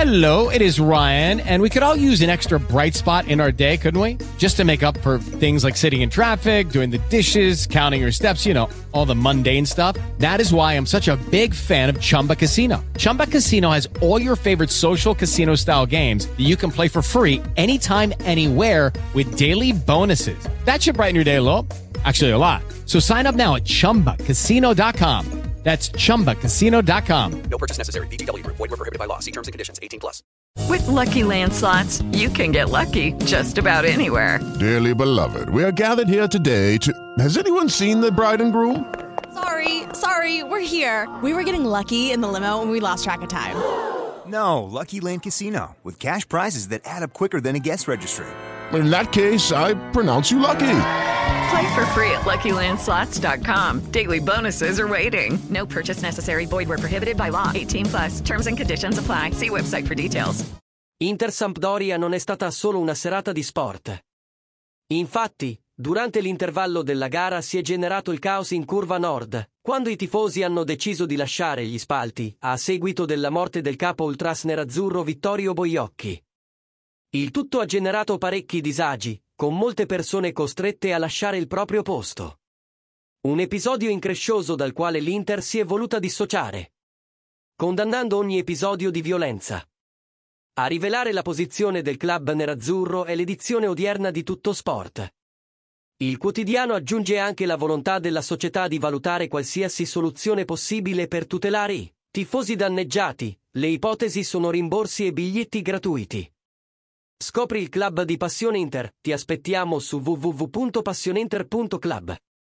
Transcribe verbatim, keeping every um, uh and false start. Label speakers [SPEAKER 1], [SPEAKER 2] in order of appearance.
[SPEAKER 1] Hello, it is Ryan, and we could all use an extra bright spot in our day, couldn't we? Just to make up for things like sitting in traffic, doing the dishes, counting your steps, you know, all the mundane stuff. That is why I'm such a big fan of Chumba Casino. Chumba Casino has all your favorite social casino-style games that you can play for free anytime, anywhere with daily bonuses. That should brighten your day a little. Actually, a lot. So sign up now at chumba casino dot com. That's chumba casino dot com.
[SPEAKER 2] No purchase necessary. V G W Group. Void where prohibited by law. See terms and conditions. eighteen plus.
[SPEAKER 3] With Lucky Land Slots, you can get lucky just about anywhere.
[SPEAKER 4] Dearly beloved, we are gathered here today to... Has anyone seen the bride and groom?
[SPEAKER 5] Sorry, sorry, we're here. We were getting lucky in the limo and we lost track of time.
[SPEAKER 6] No, Lucky Land Casino. With cash prizes that add up quicker than a guest registry.
[SPEAKER 4] In that case, I pronounce you lucky.
[SPEAKER 3] Play for free at lucky land slots dot com. Daily bonuses are waiting. No purchase necessary. Void where prohibited by law. eighteen plus. Terms and conditions apply. See website for details.
[SPEAKER 7] Inter-Sampdoria non è stata solo una serata di sport. Infatti, durante l'intervallo della gara si è generato il caos in curva nord, quando i tifosi hanno deciso di lasciare gli spalti, a seguito della morte del capo ultras nerazzurro Vittorio Boiocchi. Il tutto ha generato parecchi disagi, con molte persone costrette a lasciare il proprio posto. Un episodio increscioso dal quale l'Inter si è voluta dissociare, condannando ogni episodio di violenza. A rivelare la posizione del club nerazzurro è l'edizione odierna di Tutto Sport. Il quotidiano aggiunge anche la volontà della società di valutare qualsiasi soluzione possibile per tutelare i tifosi danneggiati. Le ipotesi sono rimborsi e biglietti gratuiti. Scopri il club di Passione Inter, ti aspettiamo su w w w punto passioneinter punto club.